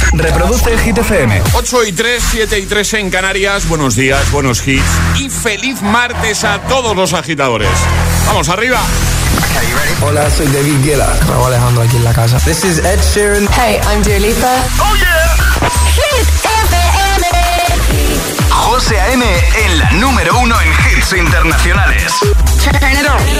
Reproduce el Hit FM. 8:03, 7:03 en Canarias. Buenos días, buenos hits y feliz martes a todos los agitadores. ¡Vamos arriba! Hola, soy David Guetta. Raúl Alejandro aquí en la casa. This is Ed Sheeran. Hey, I'm Dua Lipa. ¡Oh, yeah! Hit FM. José A.M. en la número 1 en hits internacionales. Turn it on.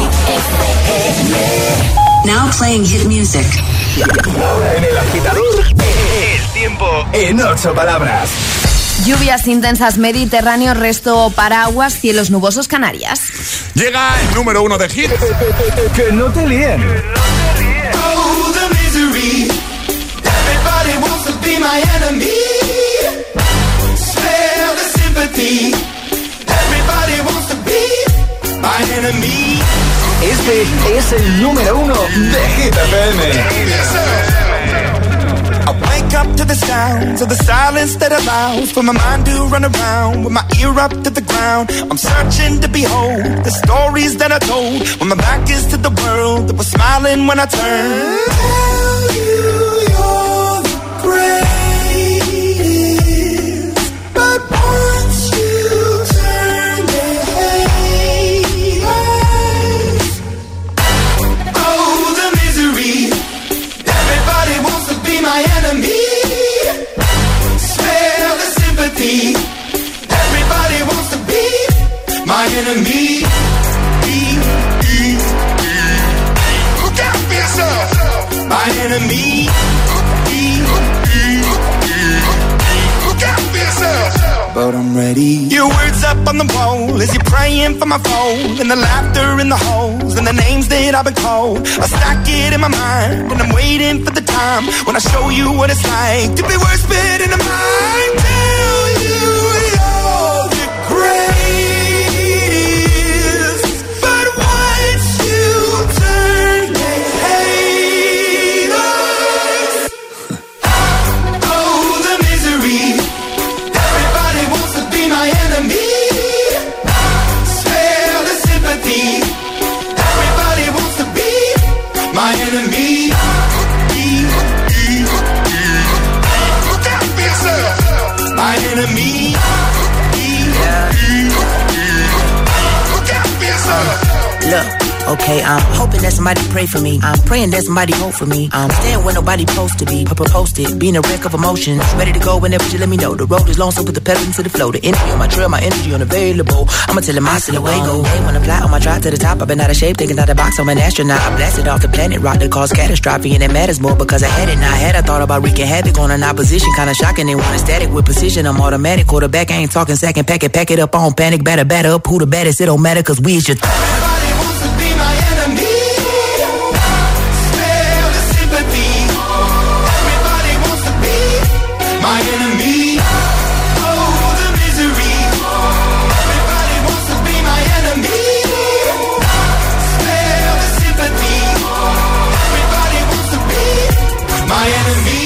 Now playing hit music. Ahora en El Agitador, el tiempo en 8 palabras. Lluvias intensas Mediterráneo, resto paraguas, cielos nubosos Canarias. Llega el número 1 de hit. Que no te líen. Oh, the misery. Everybody wants to be my enemy. Spare the sympathy. Everybody wants to be my enemy. Este es el número 1 de Hit FM. I wake up to the sounds of the silence that allows for my mind to run around with my ear up to the ground. I'm searching to behold the stories that I told when my back is to the world that was smiling when I turned. Tell you you're the greatest, but once you turn the hate, oh, the misery. Everybody wants to be my enemy. Spare the sympathy. Everybody wants to be my enemy. Look out for yourself. My enemy. Look out for yourself. But I'm ready. Your words up on the wall as you're praying for my phone, and the laughter in the holes and the names that I've been called. I stack it in my mind and I'm waiting for the time when I show you what it's like to be worse fit in the mind. Tell you you're the greatest, but once you turn they hate us. Oh, the misery. Everybody wants to be my enemy. Spare the sympathy. Everybody wants to be my enemy. Look out for yourself. My enemy. Look out for yourself. Look, okay, I'm hoping that somebody pray for me. I'm praying that somebody hope for me. I'm staying where nobody supposed to be. Posted, being a wreck of emotions. Ready to go whenever you let me know. The road is long, so put the pedal into the flow. The energy on my trail, my energy unavailable. I'ma tell him I still away go. Hey, when I fly on my drive to the top, I've been out of shape, thinking out the box. I'm an astronaut. I blasted off the planet, rock that caused catastrophe, and it matters more because I had it. Now I had, I thought about wreaking havoc on an opposition, kinda shocking. They want static with precision. I'm automatic, quarterback. I ain't talking second, pack it up on panic, batter up. Who the baddest? It don't matter, cause we is your. Everybody wants to be my enemy. Spare the sympathy. Everybody wants to be my enemy. Oh, the misery. Everybody wants to be my enemy. Spare the sympathy. Everybody wants to be my enemy.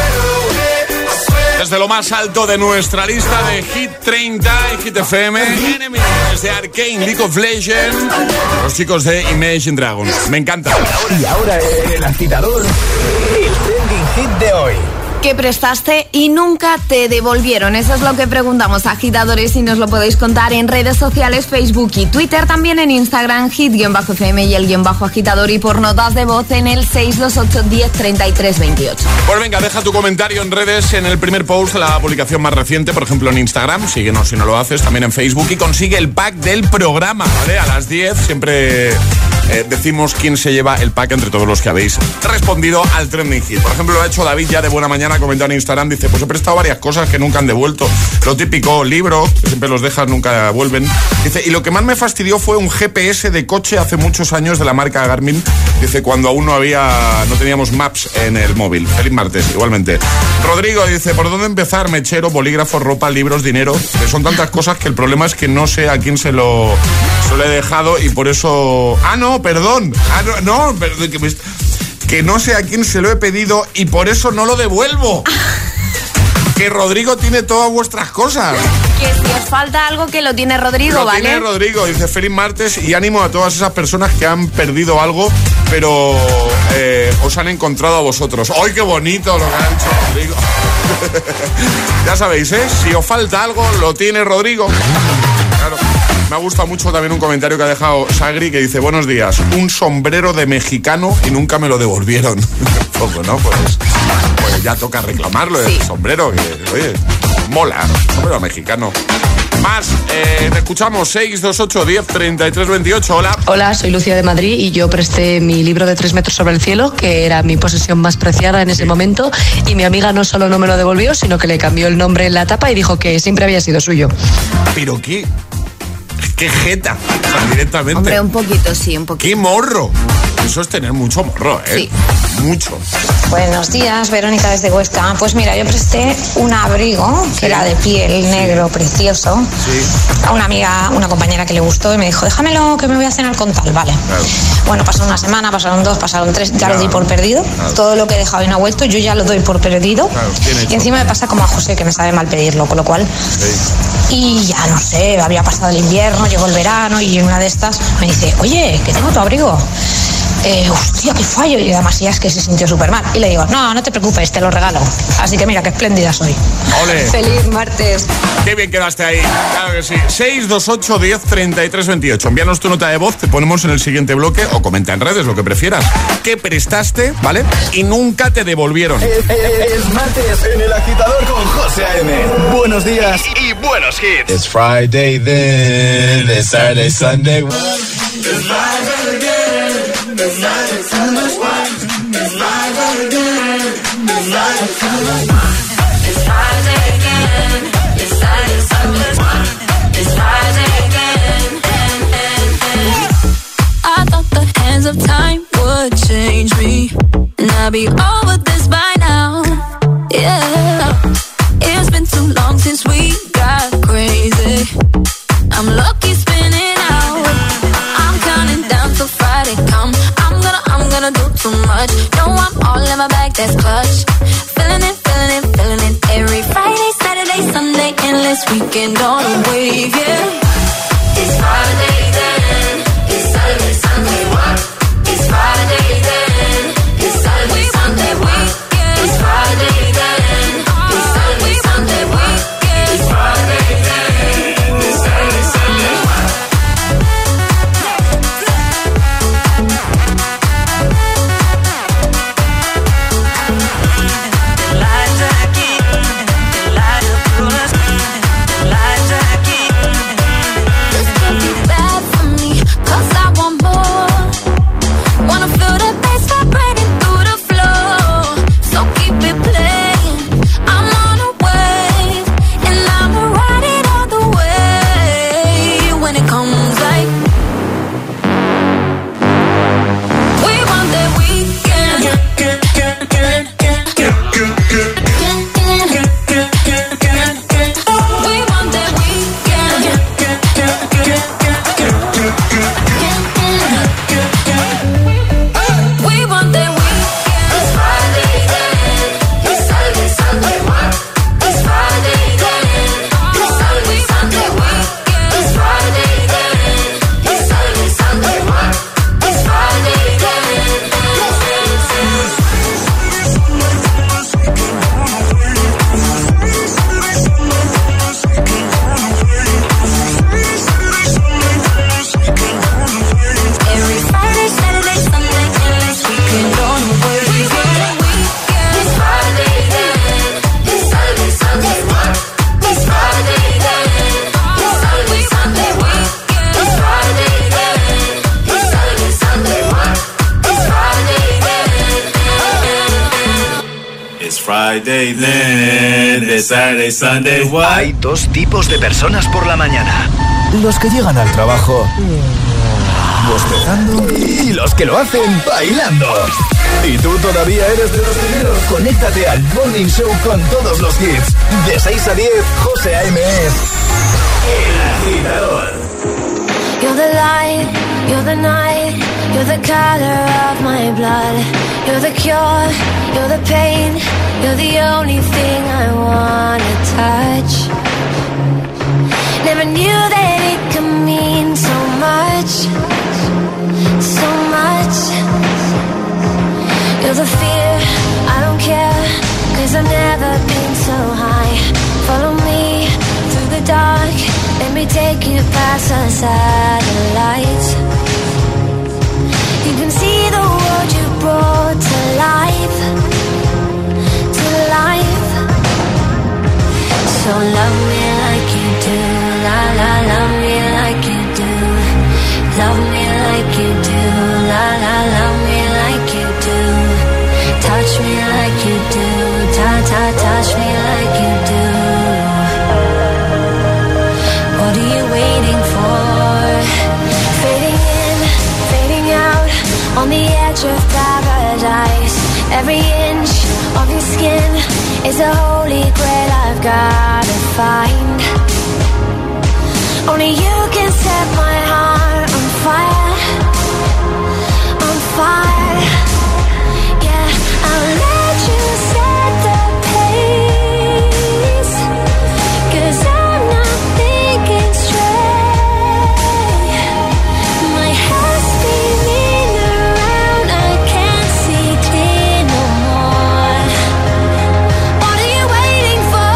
Desde lo más alto de nuestra lista de Hit 30 y Hit FM, Enemy, desde Arcane, League of Legends, los chicos de Imagine Dragons. Me encanta. Y ahora El Agitador, el trending hit de hoy. ¿Qué prestaste y nunca te devolvieron? Eso es lo que preguntamos, agitadores, y nos lo podéis contar en redes sociales, Facebook y Twitter, también en Instagram, hit-fm y el _agitador, y por notas de voz en el 628 10 33 28. Pues venga, deja tu comentario en redes, en el primer post, la publicación más reciente, por ejemplo en Instagram, síguenos si no lo haces, también en Facebook, y consigue el pack del programa, ¿vale? A las 10 siempre decimos quién se lleva el pack entre todos los que habéis respondido al trending hit. Por ejemplo, lo ha hecho David ya de buena mañana, ha comentado en Instagram, dice, pues he prestado varias cosas que nunca han devuelto. Lo típico, libros, que siempre los dejas, nunca vuelven. Dice, y lo que más me fastidió fue un GPS de coche hace muchos años de la marca Garmin. Dice, cuando aún no teníamos Maps en el móvil. Feliz martes, igualmente. Rodrigo dice, ¿por dónde empezar? Mechero, bolígrafo, ropa, libros, dinero. Que son tantas cosas que el problema es que no sé a quién se lo he dejado y por eso... Perdón. Que no sé a quién se lo he pedido y por eso no lo devuelvo. Que Rodrigo tiene todas vuestras cosas. Que si os falta algo, que lo tiene Rodrigo, ¿vale? Lo tiene Rodrigo. Dice, feliz martes, y ánimo a todas esas personas que han perdido algo, pero os han encontrado a vosotros. ¡Ay, qué bonito lo que ha dicho Rodrigo! Ya sabéis, si os falta algo, lo tiene Rodrigo. Claro. Me ha gustado mucho también un comentario que ha dejado Sagri, que dice: buenos días, un sombrero de mexicano y nunca me lo devolvieron. Poco, ¿no? Pues ya toca reclamarlo, el sombrero, que, oye, mola, sombrero mexicano. Más, te escuchamos. 628 10 33 28. Hola. Hola, soy Lucia de Madrid y yo presté mi libro de 3 metros sobre el cielo, que era mi posesión más preciada en ese momento, y mi amiga no solo no me lo devolvió, sino que le cambió el nombre en la tapa y dijo que siempre había sido suyo. ¿Pero qué jeta? O sea, directamente. Hombre, un poquito, sí, un poquito. ¡Qué morro! Eso es tener mucho morro, Sí. Mucho. Buenos días, Verónica desde Huesca. Pues mira, yo presté un abrigo que era de piel negro, precioso, a una amiga, una compañera que le gustó y me dijo: déjamelo que me voy a cenar con tal. Vale. Claro. Bueno, pasó una semana, pasaron 2, pasaron 3, ya lo di por perdido. Claro. Todo lo que he dejado y no ha vuelto, yo ya lo doy por perdido. Claro, y encima me pasa como a José, que me sabe mal pedirlo, con lo cual... Sí. Y ya no sé, había pasado el invierno, llegó el verano y en una de estas me dice: oye, que tengo tu abrigo. Hostia, qué fallo. Y además ya es que se sintió súper mal. Y le digo: no te preocupes, te lo regalo. Así que mira, qué espléndida soy. ¡Ole! Feliz martes. Qué bien quedaste ahí. Claro que sí. 628 10 33 28. Envíanos tu nota de voz, te ponemos en el siguiente bloque o comenta en redes, lo que prefieras. ¿Qué prestaste, vale? Y nunca te devolvieron. Es martes en El Agitador con José A.M. Buenos días y buenos hits. It's Friday then, it's Saturday, Sunday. It's Friday again. It's Friday, Sunday. It's Friday again. It's Friday, Sunday. It's Friday again. It's Saturday, Sunday. It's Friday again. I thought the hands of time would change me, and I'd be over this by now. Yeah, it's been too long since we got crazy. I'm lucky spinning out. I'm counting down till Friday come. I'm gonna do too much. No, I'm all in my bag, that's clutch. Feeling it. Every Friday, Saturday, Sunday, endless weekend on a wave, yeah. It's Friday then. It's Saturday, Sunday, what? It's Friday then. It's Saturday, Sunday, what? It's Friday then. It's Saturday, Sunday, what? It's Friday then. It's Saturday, Sunday, what? Friday then, Saturday, Sunday, what? Hay dos tipos de personas por la mañana: los que llegan al trabajo bostezando y los que lo hacen bailando. ¿Y tú todavía eres de los primeros? Conéctate al Morning Show con todos los hits. De 6 a 10, José A.M. es El Agitador. You're the light, you're the night, you're the color of my blood. You're the cure, you're the pain, you're the only thing I wanna touch. Never knew that it could mean so much, so much. You're the fear, I don't care, 'cause I've never been so Don't love me like you do. La la, love me like you do. Love me like you do. La la, love me like you do. Touch me like you do. Ta ta, touch me like you do. What are you waiting for? Fading in, fading out, on the edge of paradise. Every inch of your skin is a holy grail I've gotta find. Only you can set my heart on fire, on fire. Yeah, I'll let you set the pace, 'cause I'm not thinking straight. My head's spinning around, I can't see clear no more. What are you waiting for?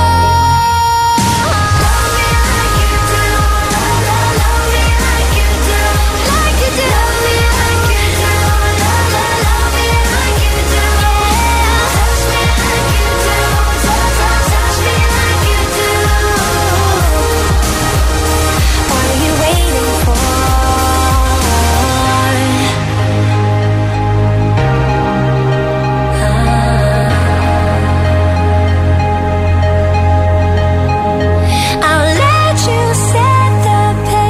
Love me like you do. Love me like you do. Like you do. Love me like you do. Love me like you do. Touch me like you do. Touch me like you do. What are you waiting for? I'll let you set the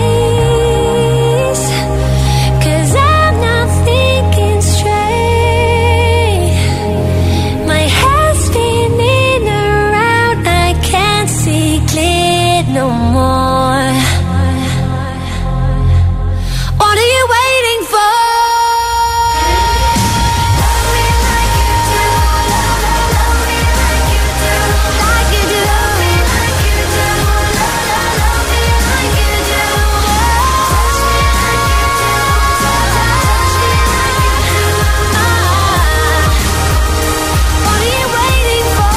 pace, 'cause I'm not thinking straight. My head's spinning around, I can't see clear no more. What are you waiting for? Love me like you do. Love me like you do. Like you do. Love me like you do. Love me like you do. Touch me like you do. Touch me like you do. What are you waiting for?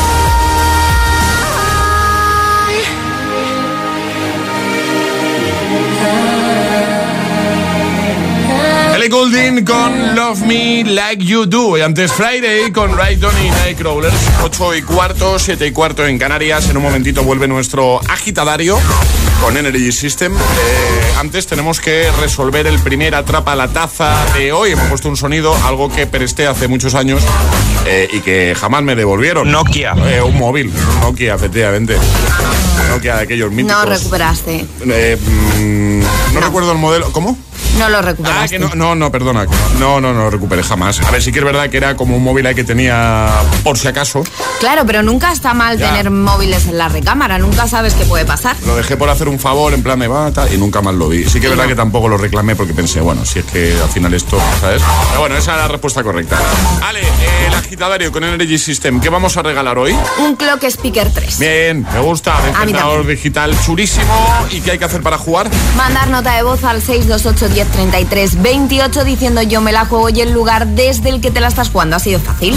Ellie Goulding con Love Me Like You Do. Y antes Friday con Rydon y Nightcrawlers. 8:15, 7:15 en Canarias. En un momentito vuelve nuestro agitadario con Energy System. Antes tenemos que resolver el primer Atrapa la Taza de hoy. Hemos puesto un sonido, algo que presté hace muchos años y que jamás me devolvieron. Nokia. Un móvil, Nokia, efectivamente. Nokia de aquellos míticos. No recuperaste. No recuerdo el modelo. ¿Cómo? No lo recuperaste. Que no, perdona. No lo recuperé jamás. A ver, sí que es verdad que era como un móvil ahí que tenía por si acaso. Claro, pero nunca está mal tener móviles en la recámara. Nunca sabes qué puede pasar. Lo dejé por hacer un favor, en plan de bata, y nunca más lo vi. Sí que es verdad que tampoco lo reclamé porque pensé, bueno, si es que al final esto, ¿sabes? Pero bueno, esa es la respuesta correcta. Vale, el agitadario con Energy System. ¿Qué vamos a regalar hoy? Un Clock Speaker 3. Bien, me gusta. Despertador digital chulísimo. ¿Y qué hay que hacer para jugar? Mandar nota de voz al 628 1033 28 diciendo yo me la juego y el lugar desde el que te la estás jugando. Ha sido fácil.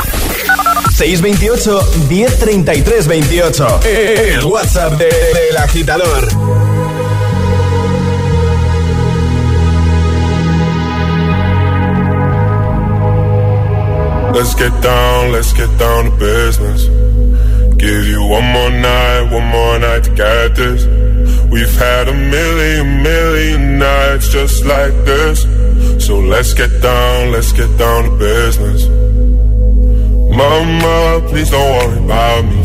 628 1033 28. El WhatsApp del agitador. Let's get down to business. Give you one more night to get this. We've had a million nights just like this. So let's get down to business. Mama, please don't worry about me.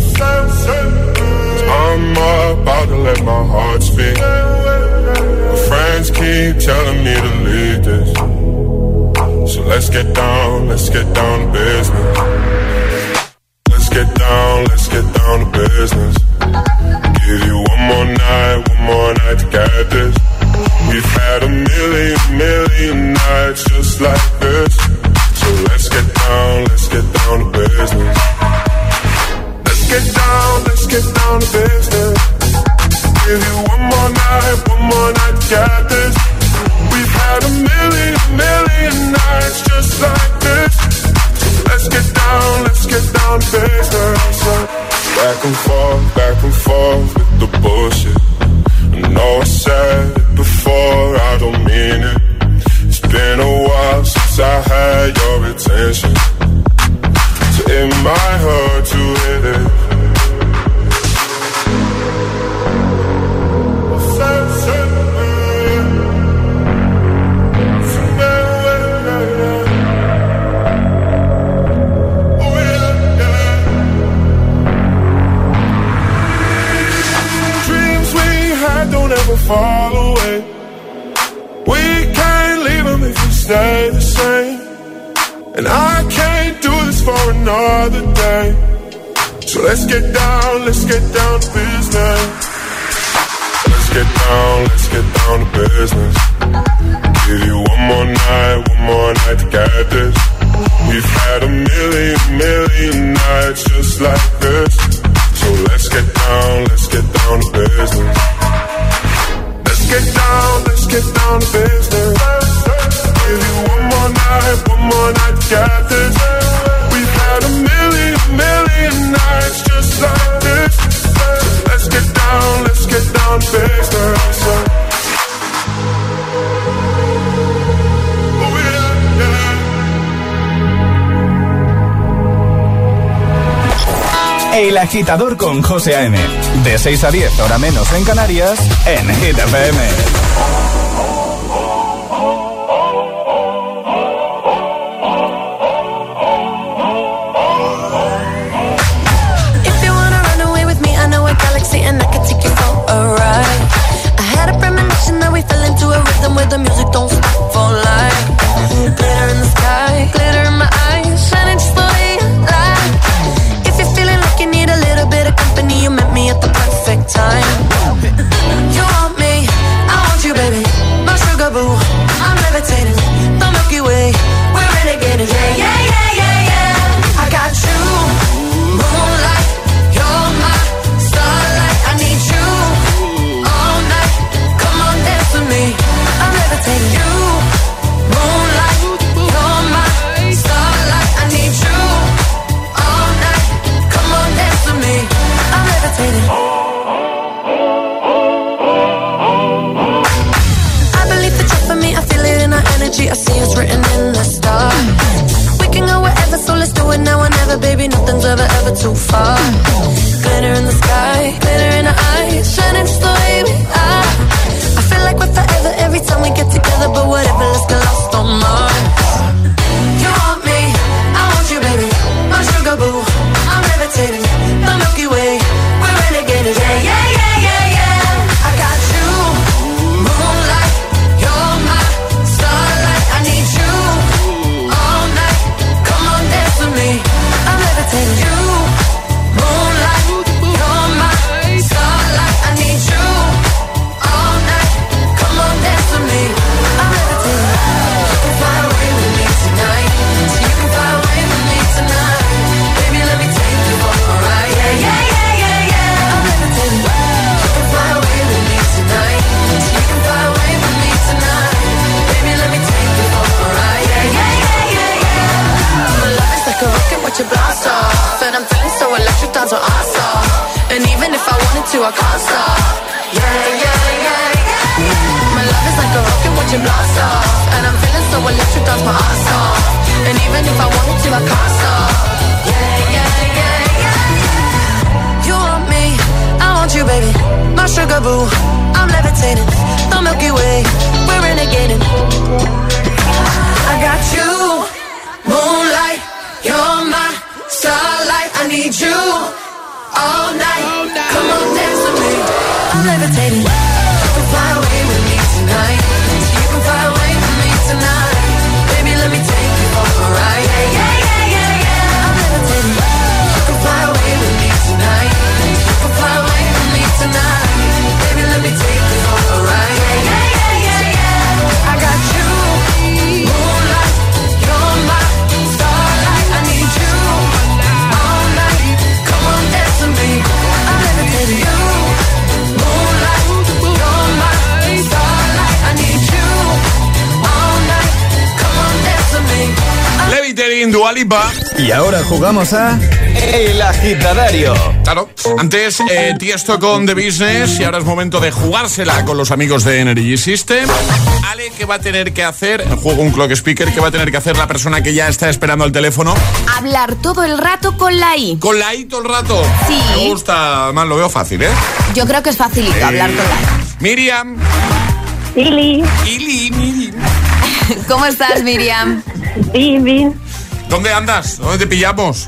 I'm about to let my heart speak. My friends keep telling me to leave this. So let's get down to business. Let's get down to business. Give you one more night to get this. We've had a million nights just like this. So let's get down to business. Let's get down to business. Give you one more night to get this. We've had a million nights just like this. Let's get down to business. Back and forth with the bullshit. I know I said it before, I don't mean it. It's been a while since I had your attention. So it might hurt to hit it. fall away. We can't leave them if we stay the same. And I can't do this for another day. So let's get down to business. Let's get down to business. Give you one more night to get this. We've had a million nights just like this. So let's get down to business. Let's get down to business. Give you one more night to get this. We've had a million nights just like this. So let's get down to business. El Agitador con José A.M. De 6 a 10, hora menos en Canarias, en Hit FM. If you wanna run away with me, I know a galaxy and I can take you for a ride. I had a premonition that we fell into a rhythm where the music don't stop for life. Glitter in the sky, glitter in my eyes, shining just the way you like. If you're feeling like you need a little bit of company, you met me at the perfect time. You want me, I want you, baby. My sugar boo, I'm levitating. The Milky Way, we're renegading. Yeah, yeah, yeah, yeah, yeah. I got you, moonlight. You're my starlight. I need you all night. Come on, dance with me. I'm levitating. You, moonlight. You're my starlight. I need you all night. Come on, dance with me. I'm levitating. I believe that you're for me. I feel it in our energy. I see it's written in the stars. We can go wherever, so let's do it now or never, baby. Nothing's ever too far. Glitter in the sky, glitter in our eyes, shining just the way we are. I feel like we're forever every time we get together, but whatever, let's get lost on Mars. You want me, I want you, baby. My sugar boo, I'm levitating. The Milky Way, we're renegading. Yeah, yeah, yeah, yeah, yeah. I got you, moonlight. You're my starlight. I need you all night. Come on, dance with me. I'm levitating. You, moonlight. You're my starlight. I need you all night. Come on, dance with me. I'm levitating. You can fly away with me tonight. So you can fly away with me tonight. Baby, let me take you for a ride. Yeah, yeah, yeah, yeah, yeah. I'm levitating. You can fly away with me tonight. So you can fly away with me tonight. Baby, let me take you for a ride. Yeah, yeah, yeah, yeah, yeah. My love is like a rocket, watch it blast off. And I'm feeling so electric, down to awesome. And even if I wanted to, I can't stop. Yeah, yeah, yeah, yeah. My love is like a rocket, watch it blast off. And I'm feeling so electric, down my ass off. And even if I wanted to, I can't stop. Yeah, yeah, yeah, yeah. You want me, I want you, baby. My sugar boo, I'm levitating. The Milky Way, we're renegading. I got you, moonlight. You're my starlight. I need you all night. Come on, dance with me. I'm levitating. You can fly away with me tonight. You can fly away with me tonight. Baby, let me take you for a ride. Yeah, yeah, yeah, yeah, yeah. I'm levitating. You can fly away with me tonight. You can fly away with me tonight. Baby, let me take you for a ride. Yeah, yeah, yeah, yeah, yeah. I got you, moonlight. You're my starlight. I need you all night. Come on, dance with me. I'm levitating. You, moonlight. You're my starlight. I need you all night. Come on, dance with me. Levitating, Dua Lipa. Y ahora jugamos a El Agitadario. Claro, antes Tiesto con The Business y ahora es momento de jugársela con los amigos de Energy System. Ale, ¿qué va a tener que hacer? El juego un clock speaker, ¿qué va a tener que hacer la persona que ya está esperando al teléfono? Hablar todo el rato con la I. ¿Con la I todo el rato? Sí. Me gusta, más lo veo fácil, ¿eh? Yo creo que es facilito hablar con la I. Miriam. Ili. Miriam. ¿Cómo estás, Miriam? Bien, bien. ¿Dónde andas? ¿Dónde te pillamos?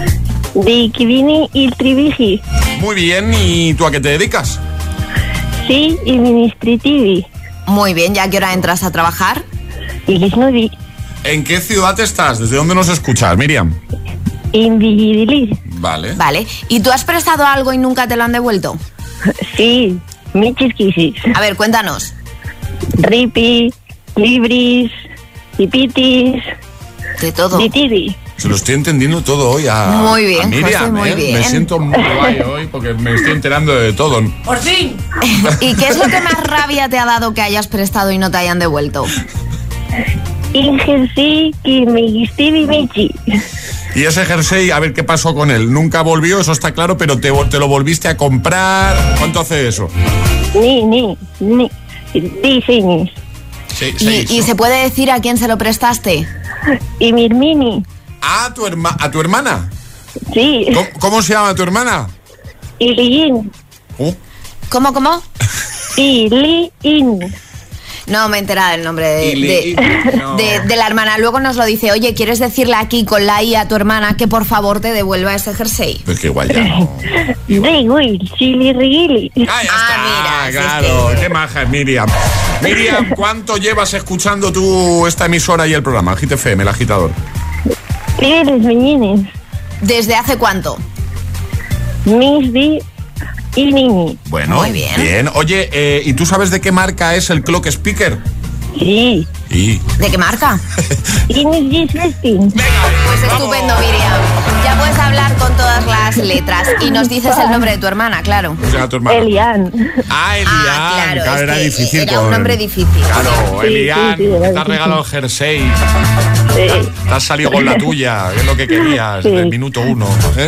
De Kivini y Trivigi. Muy bien, ¿y tú a qué te dedicas? Sí, Sí, y Ministritivi. Muy bien, ¿ya a qué hora entras a trabajar? Y Lisnudi. ¿En qué ciudad estás? ¿Desde dónde nos escuchas, Miriam? Invigilis. Vale. Vale, ¿y tú has prestado algo y nunca te lo han devuelto? Sí, Michiskisis. A ver, cuéntanos. Ripi, Libris, Pipitis. De todo. Ditidi. Se lo estoy entendiendo todo hoy a, muy bien, a Miriam, José, muy bien. Me siento muy guay hoy porque me estoy enterando de todo. ¡Por fin! ¿Y qué es lo que más rabia te ha dado que hayas prestado y no te hayan devuelto? Ingersi, Kimigistivi, Michi. Y ese jersey, a ver qué pasó con él. Nunca volvió, eso está claro, pero te lo volviste a comprar. ¿Cuánto hace eso? Ni. 10 años. ¿Y se puede decir a quién se lo prestaste? Y Mirmini. ¿A tu hermana? Sí. ¿Cómo se llama tu hermana? Iliin. ¿Cómo? Iliin. No me he enterado el nombre de la hermana. Luego nos lo dice, oye, ¿quieres decirle aquí con la I a tu hermana que por favor te devuelva ese jersey? Pues que igual ya no. Chili Rigili. Ah, ya está, mira, claro. Qué maja es Miriam. Miriam, ¿cuánto llevas escuchando tú esta emisora y el programa, Hit FM, el agitador? ¿Desde hace cuánto? Misdi y Nini. Bueno, muy bien. Oye, ¿y tú sabes de qué marca es el clock speaker? Sí. ¿De qué marca? Pues estupendo, Miriam. Ya puedes hablar con todas las letras y nos dices el nombre de tu hermana, claro. ¿Cómo se llama tu hermana? Elian. Elian. Claro, era difícil. Era un nombre difícil. Claro, Elian, te has regalado el jersey. Sí. Te has salido con la tuya, es lo que querías, del minuto 1.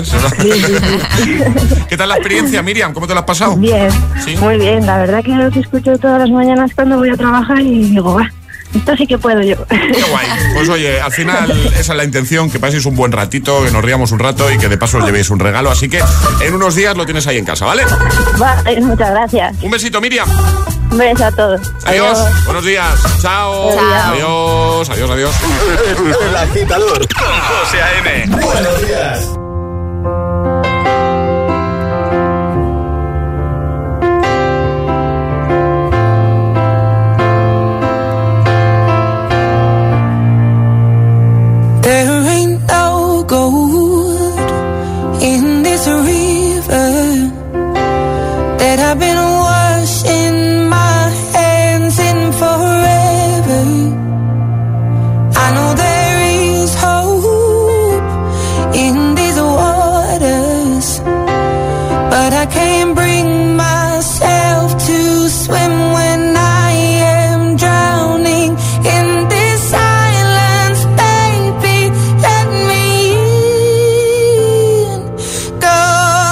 ¿Qué tal la experiencia, Miriam? ¿Cómo te la has pasado? Bien, ¿Sí? muy bien. La verdad que lo que escucho todas las mañanas cuando voy a trabajar y digo, esto sí que puedo yo. Qué guay. Pues oye, al final esa es la intención, que paséis un buen ratito, que nos riamos un rato y que de paso os llevéis un regalo. Así que en unos días lo tienes ahí en casa, ¿vale? Muchas gracias. Un besito, Miriam. Un beso a todos. Adiós. Buenos días. Chao. Adiós. Adiós. El agitador con José A.M. Buenos días. There ain't no gold in this river that I've been washing my hands in forever. I know there is hope in these waters, but I can't bring myself to swim when I am drowning in this silence. Baby, let me in. Go.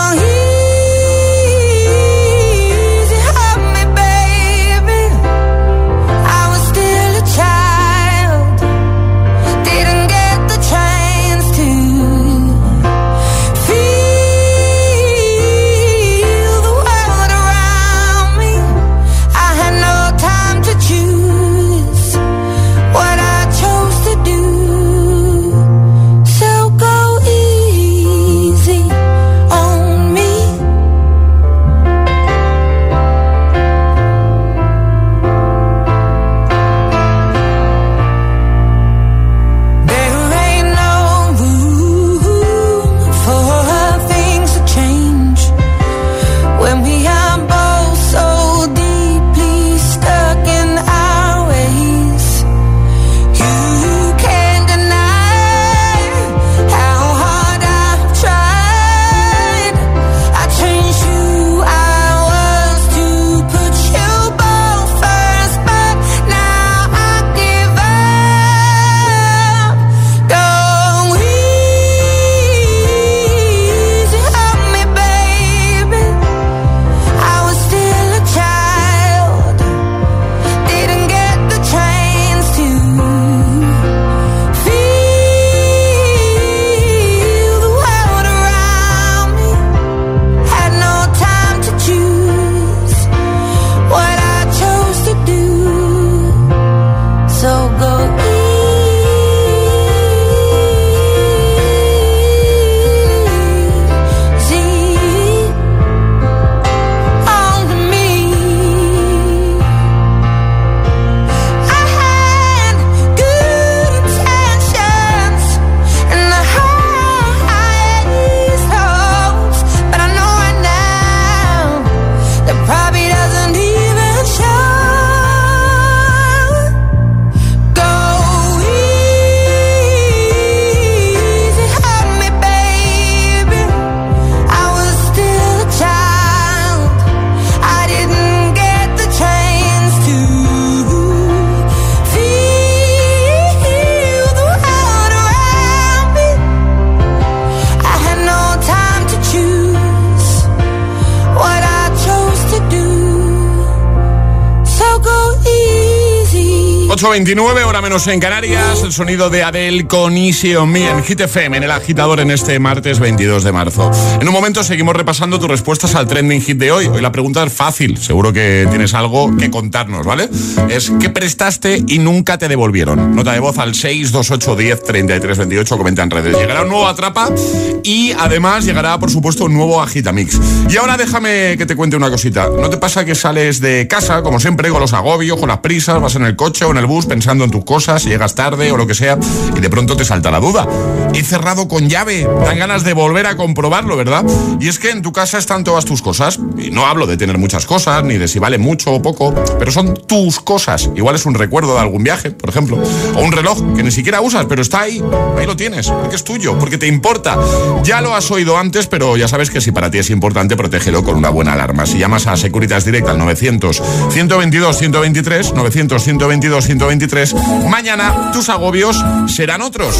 8:29, hora menos en Canarias. El sonido de Adele con Easy on Me en Hit FM, en el agitador, en este martes 22 de marzo. En un momento seguimos repasando tus respuestas al trending hit de hoy. Hoy la pregunta es fácil, seguro que tienes algo que contarnos, ¿vale? Es ¿qué prestaste y nunca te devolvieron? Nota de voz al 628 10 33 28, comenta en redes. Llegará un nuevo Atrapa y además llegará, por supuesto, un nuevo Agitamix. Y ahora déjame que te cuente una cosita. ¿No te pasa que sales de casa, como siempre, con los agobios, con las prisas, vas en el coche o en el bus pensando en tus cosas, llegas tarde o lo que sea, y de pronto te salta la duda? He cerrado con llave, dan ganas de volver a comprobarlo, ¿verdad? Y es que en tu casa están todas tus cosas, y no hablo de tener muchas cosas, ni de si vale mucho o poco, pero son tus cosas. Igual es un recuerdo de algún viaje, por ejemplo, o un reloj que ni siquiera usas, pero está ahí lo tienes, porque es tuyo, porque te importa. Ya lo has oído antes, pero ya sabes que si para ti es importante, protégelo con una buena alarma. Si llamas a Securitas Direct al 900-122-123, 900-122-123, mañana tus agobios serán otros.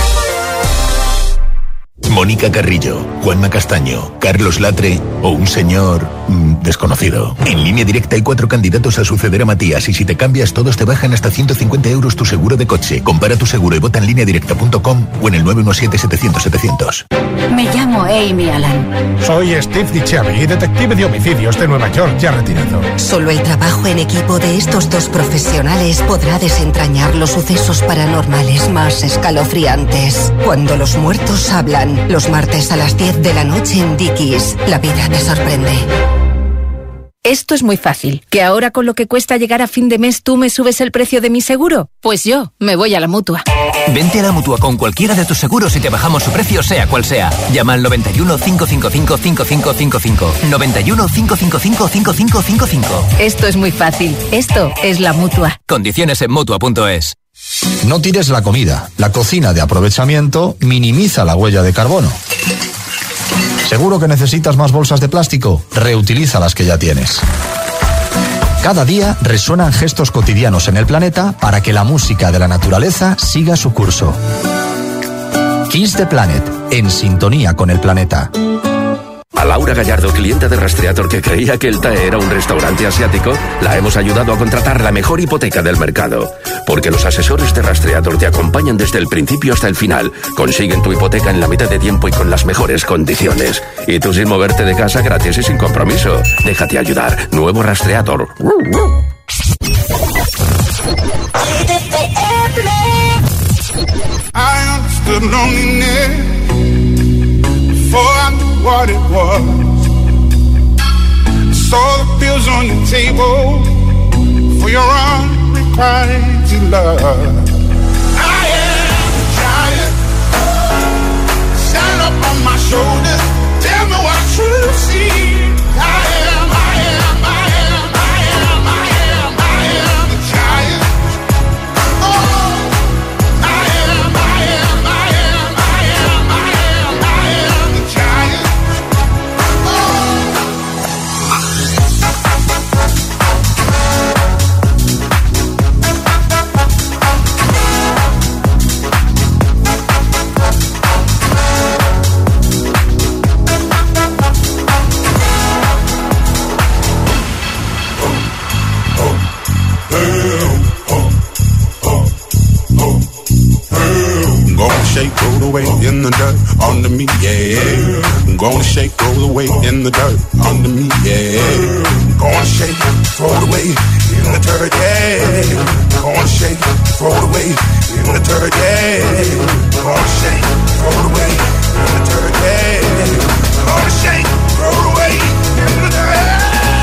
Mónica Carrillo, Juanma Castaño, Carlos Latre o un señor desconocido. En Línea Directa hay 4 candidatos a suceder a Matías y si te cambias todos te bajan hasta 150 euros tu seguro de coche. Compara tu seguro y vota en lineadirecta.com o en el 917-700-700. Me llamo Amy Allan. Soy Steve DiChiavi, detective de homicidios de Nueva York, ya retirado. Solo el trabajo en equipo de estos dos profesionales podrá desentrañar los sucesos paranormales más escalofriantes. Cuando los muertos hablan, los martes a las 10 de la noche en Dickies. La vida te sorprende. Esto es muy fácil. ¿Que ahora con lo que cuesta llegar a fin de mes tú me subes el precio de mi seguro? Pues yo me voy a la Mutua. Vente a la Mutua con cualquiera de tus seguros y te bajamos su precio sea cual sea. Llama al 91 555 5555. 91 555 5555. Esto es muy fácil. Esto es la Mutua. Condiciones en Mutua.es. No tires la comida. La cocina de aprovechamiento minimiza la huella de carbono. ¿Seguro que necesitas más bolsas de plástico? Reutiliza las que ya tienes. Cada día resuenan gestos cotidianos en el planeta para que la música de la naturaleza siga su curso. Kiss the Planet, en sintonía con el planeta. A Laura Gallardo, clienta de Rastreator que creía que el TAE era un restaurante asiático, la hemos ayudado a contratar la mejor hipoteca del mercado. Porque los asesores de Rastreator te acompañan desde el principio hasta el final. Consiguen tu hipoteca en la mitad de tiempo y con las mejores condiciones. Y tú sin moverte de casa, gratis y sin compromiso. Déjate ayudar. Nuevo Rastreator. What it was. I saw the pills on your table for your unrequited love. I am a giant. Stand up on my shoulders. Tell me what you see. I am a giant. Oh, I am a giant. Shake, roll away in the dirt under me, yeah. I'm gonna shake, roll away in the dirt under me, yeah. I'm gonna shake, throw it away in the dirt, yeah. I'm gonna shake, throw it away in the dirt, yeah. I'm gonna shake, throw it away in the dirt, yeah. I'm gonna shake, throw it away in the dirt.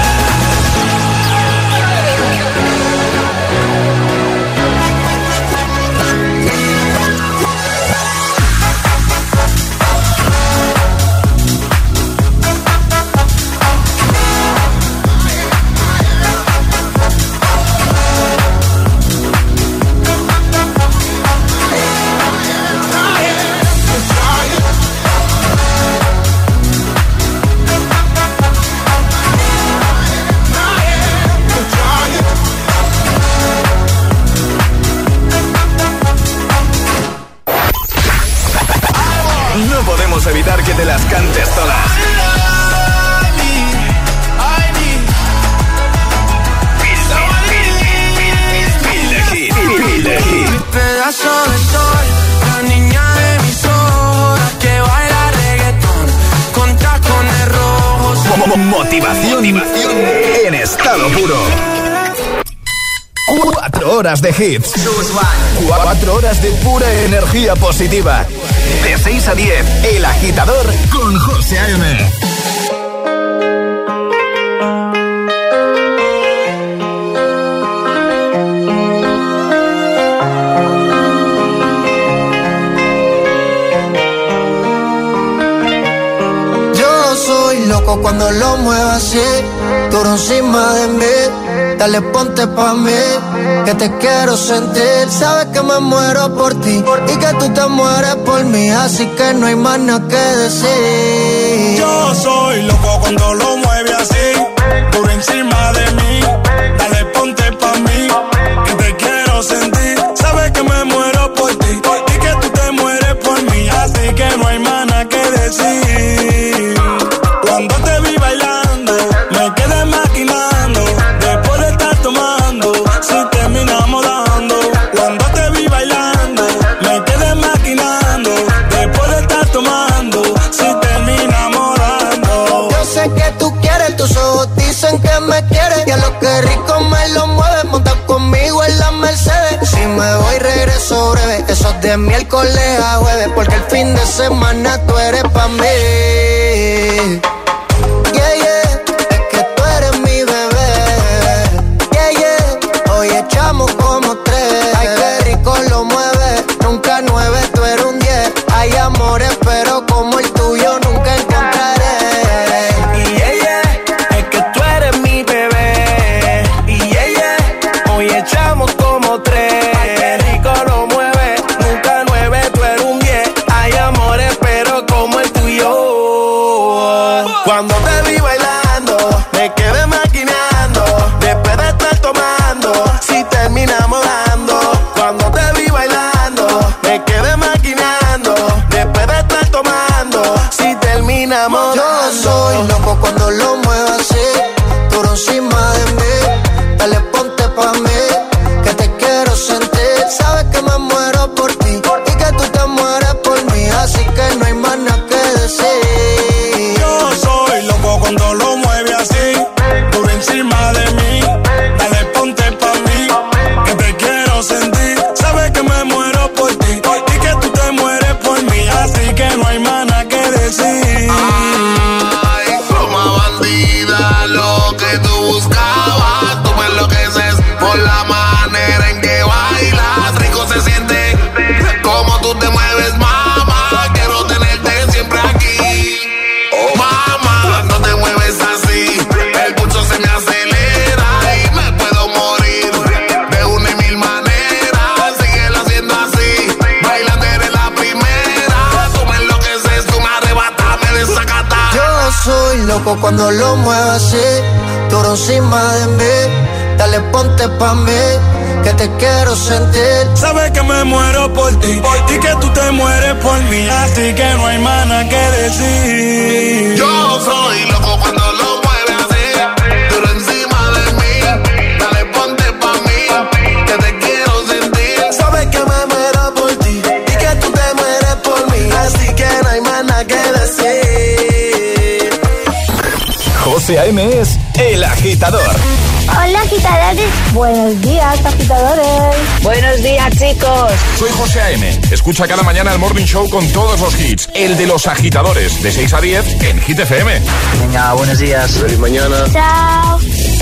Evitar que te las cantes todas. Motivación en estado puro. 4 horas de hits. 4 horas de pura energía positiva. De 6 a 10, El Agitador con José A.M. Loco cuando lo muevas así, duro encima de mí. Dale, ponte pa' mí, que te quiero sentir. Sabes que me muero por ti y que tú te mueres por mí, así que no hay más nada que decir. Yo soy loco cuando lo mueves así, duro encima de mí. Dale, ponte pa' mí, que te quiero sentir. Sabes que me muero por ti y que tú te mueres por mí, así que no hay más nada que decir. Cuando te vi bailando, me quedé maquinando. Después de estar tomando, si terminamos dando. Cuando te vi bailando, me quedé maquinando. Después de estar tomando, si terminamos dando. Yo sé que tú quieres, tus ojos dicen que me quieres. Y a lo que rico me lo mueves, monta conmigo en la Mercedes. Si me voy regreso breve, eso es de miércoles a jueves, porque el fin de semana tú eres pa' mí. Como 3. Ay, qué rico lo mueve, nunca 9, tú eres un 10. Hay amores, pero como el tuyo nunca encontraré. Y es que tú eres mi bebé. Y hoy echamos como 3. Ay, qué rico lo mueve, nunca 9, tú eres un 10. Hay amores, pero como el tuyo. Cuando te vi bailando, me quedé maquinando. Después de estar tomando, si terminamos dando. Cuando te vi bailando, me quedé maquinando. Después de estar tomando, si terminamos dando. Yo soy loco cuando lo muevo así, duro encima de mí. Dale, ponte pa' mí, que te quiero sentir. Sabes que me muero por ti y que tú te mueres por mí, así que no hay más nada que decir. Yo soy loco cuando lo mueve así, duro encima de mí. Dale, ponte pa' mí, que te quiero sentir. Sabes que me muero por ti y que tú te mueres por mí, así que no hay más nada que decir. Ay, como bandida, lo que tú buscabas. Tú me enloqueces por la manera en que bailas. Rico se siente como tú te mueves, mamá. Quiero tenerte siempre aquí. Oh, mamá, no te mueves así, el pulso se me acelera y me puedo morir de una y mil maneras. Síguelo haciendo así, bailando eres la primera. Tú me enloqueces, tú me arrebatas, me desacatas. Yo soy loco cuando lo muevo así, duro encima de mí. Dale, ponte pa' mí, que te quiero sentir. Sabes que me muero por ti y que tú te mueres por mí, así que no hay más nada que decir. Yo soy loco cuando lo mueves así, duro encima de mí. Dale, ponte pa' mí, que te quiero sentir. Sabes que me muero por ti y que tú te mueres por mí, así que no hay más nada que decir. José A.M. es El Agitador. Hola, agitadores. Buenos días, agitadores. Buenos días, chicos. Soy José A.M. Escucha cada mañana el Morning Show con todos los hits. El de los agitadores, de 6 a 10 en Hit FM. Venga, buenos días. Feliz mañana. Chao.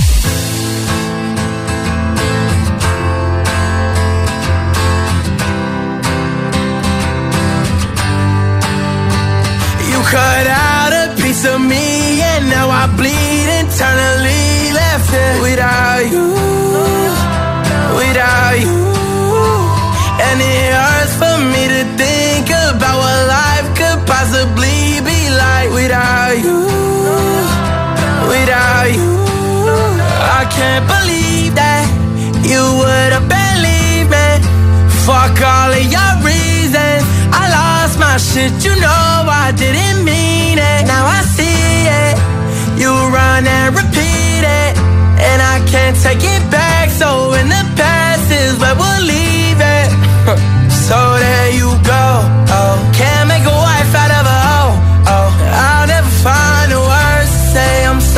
You cut out a piece of me and now I bleed internally. Left it without you, without you. And it hurts for me to think about what life could possibly be like without you, without you. I can't believe that you would have believed me. Fuck all of your reasons, I lost my shit, you know I didn't mean it. Now I see it, you run and repeat it, and I can't take it back. So in the past is where we'll leave it. So there you go. Oh, can't make a wife out of a hoe. Oh, I'll never find the words to say I'm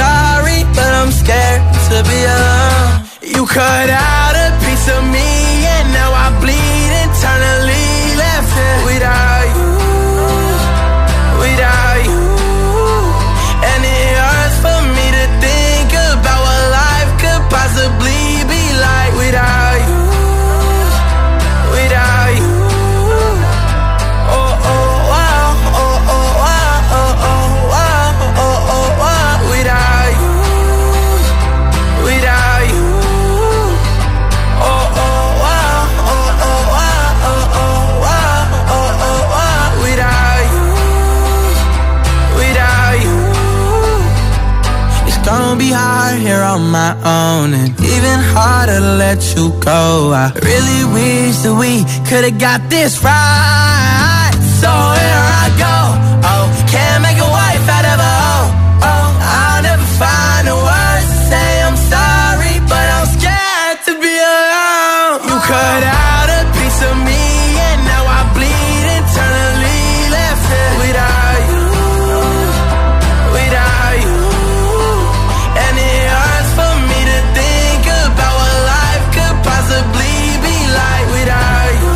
cut out a piece of me and now I bleed internally. Left it without you, without you. And it hurts for me to think about what life could possibly be like without you, without you. Oh oh wow, oh oh wow, oh oh wow, oh oh wow, without you, without you. Oh oh wow, oh oh wow, oh oh wow, oh oh wow, without you, without you. It's gonna be hard here on my own, and even harder to let you go. I really wish that we could've got this right. So here I go. Oh, can't make a wife out of a hoe. Oh, I'll never find the words to say I'm sorry, but I'm scared to be alone. You cut out a piece of me and now I bleed internally. Left it without you, without you. And it hurts for me to think about what life could possibly be like without you,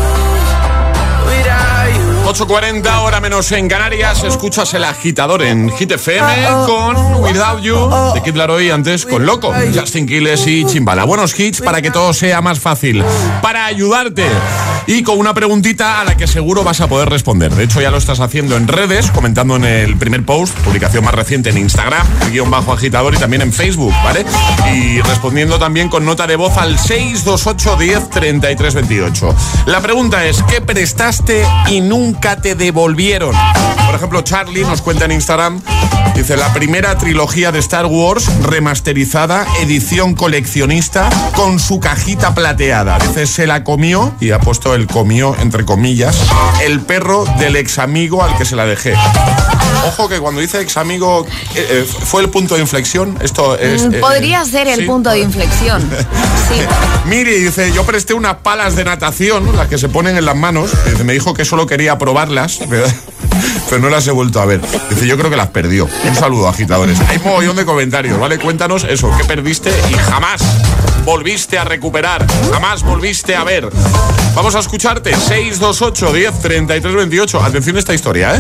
without you. 8:40, hora menos en Canarias. Escuchas El Agitador en Hit FM con Without You de Kid Laroi, antes con Loco, Justin Quiles y Chimbala. Buenos hits para que todo sea más fácil, para ayudarte y con una preguntita a la que seguro vas a poder responder. De hecho, ya lo estás haciendo en redes, comentando en el primer post, publicación más reciente en Instagram, _agitador, y también en Facebook, ¿vale? Y respondiendo también con nota de voz al 628 10 33 28. La pregunta es: ¿qué prestaste y nunca te devolvieron? Por ejemplo, Charlie nos cuenta en Instagram, dice: la primera trilogía de Star Wars remasterizada, edición coleccionista, con su cajita plateada. Dice: se la comió, y ha puesto el comió entre comillas, el perro del ex amigo al que se la dejé. Ojo que cuando dice ex amigo, ¿fue el punto de inflexión? Esto es, podría ser el punto de inflexión. Sí. Miri dice: yo presté unas palas de natación, las que se ponen en las manos. Dice: me dijo que solo quería probarlas, pero no las he vuelto a ver. Dice: yo creo que las perdió. Un saludo, agitadores. Hay mogollón de comentarios, ¿vale? Cuéntanos eso, ¿qué perdiste y jamás volviste a recuperar, jamás volviste a ver? Vamos a escucharte. 628 10 33 28. Atención a esta historia, ¿eh?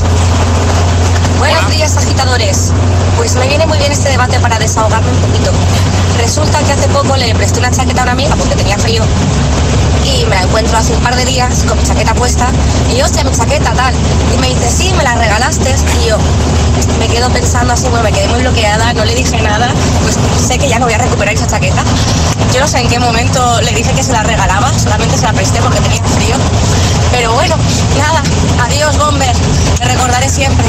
Buenos días, agitadores. Pues me viene muy bien este debate para desahogarme un poquito. Resulta que hace poco le presté una chaqueta a una amiga porque tenía frío. Y me la encuentro hace un par de días con mi chaqueta puesta. Y yo, hostia, mi chaqueta, tal. Y me dice: sí, me la regalaste. Y yo me quedo pensando así, bueno, me quedé muy bloqueada, no le dije nada. Pues sé que ya no voy a recuperar esa chaqueta. Yo no sé en qué momento le dije que se la regalaba, solamente se la presté porque tenía frío. Pero bueno, nada, adiós, Bomber, te recordaré siempre.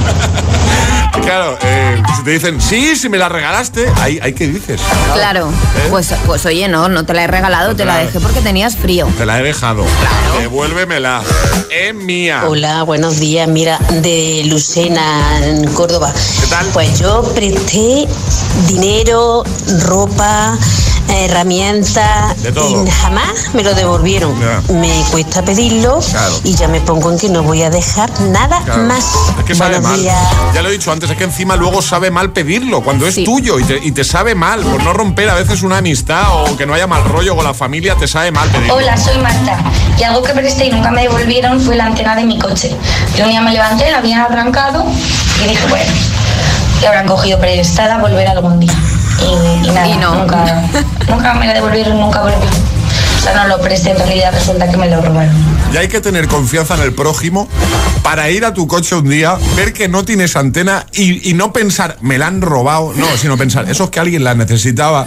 Claro, si te dicen: sí, si me la regalaste, ¿ahí qué dices? Claro, pues oye, no te la he regalado, te la dejé porque tenías frío. Te la he dejado. Claro. Devuélvemela. Es mía. Hola, buenos días. Mira, de Lucena, en Córdoba. ¿Qué tal? Pues yo presté dinero, ropa, herramientas, y jamás me lo devolvieron. Ya. Me cuesta pedirlo, claro, y ya me pongo en que no voy a dejar nada, claro, más. Es que sabe mal. Ya lo he dicho antes, es que encima luego sabe mal pedirlo cuando es tuyo y te sabe mal por no romper a veces una amistad o que no haya mal rollo con la familia, te sabe mal pedirlo. Hola, soy Marta, y algo que presté y nunca me devolvieron fue la antena de mi coche. Yo un día me levanté, la habían arrancado y dije: bueno, que habrán cogido prestada, volver algún día. Y nada, y no. nunca me la devolvieron, nunca volví. O sea, no lo presté, en realidad resulta que me lo robaron. Y hay que tener confianza en el prójimo para ir a tu coche un día, ver que no tienes antena y no pensar: me la han robado, no, sino pensar: eso es que alguien la necesitaba.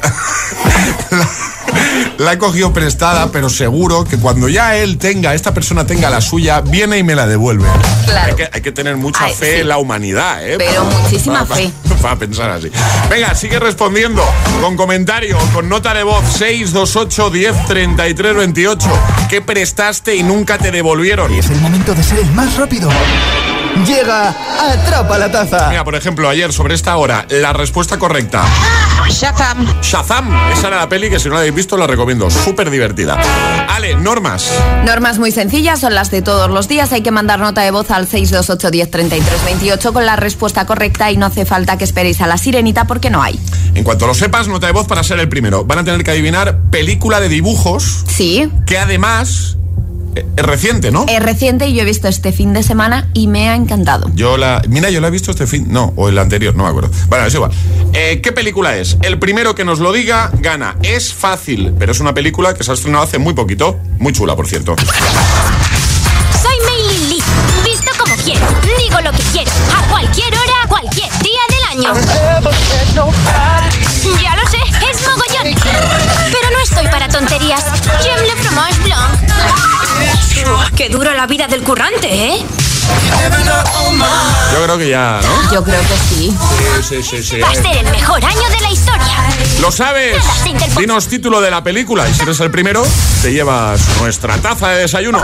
La he cogido prestada, pero seguro que cuando ya esta persona tenga la suya, viene y me la devuelve. Claro. Hay que tener mucha fe en la humanidad, ¿eh? Pero muchísima fe. Para pensar así. Venga, sigue respondiendo con comentario, con nota de voz. 628 10 33 28. ¿Qué prestaste y nunca te devolvieron? Y es el momento de ser el más rápido. Llega Atrapa la Taza. Mira, por ejemplo, ayer sobre esta hora, la respuesta correcta Shazam, esa era la peli que si no la habéis visto la recomiendo, súper divertida. Ale, normas. Normas muy sencillas, son las de todos los días. Hay que mandar nota de voz al 628 10 33 28 con la respuesta correcta y no hace falta que esperéis a la sirenita porque no hay. En cuanto lo sepas, nota de voz para ser el primero. Van a tener que adivinar película de dibujos. Sí. Que además es reciente, ¿no? Es reciente y yo he visto este fin de semana y me ha encantado. Yo la he visto este fin... No, o el anterior, no me acuerdo. Bueno, es igual. ¿Qué película es? El primero que nos lo diga, gana. Es fácil, pero es una película que se ha estrenado hace muy poquito. Muy chula, por cierto. Soy Mei Lin Lee. Visto como quiero. Digo lo que quiero. A cualquier hora, cualquier día del año. Ya lo sé, es mogollón. Pero no estoy para tonterías. J'aime le fromage blanc. Qué dura la vida del currante, ¿eh? Yo creo que ya, ¿no? Yo creo que sí. Sí. Va a ser el mejor año de la historia. ¿Lo sabes? Dinos título de la película y si eres el primero, te llevas nuestra taza de desayuno.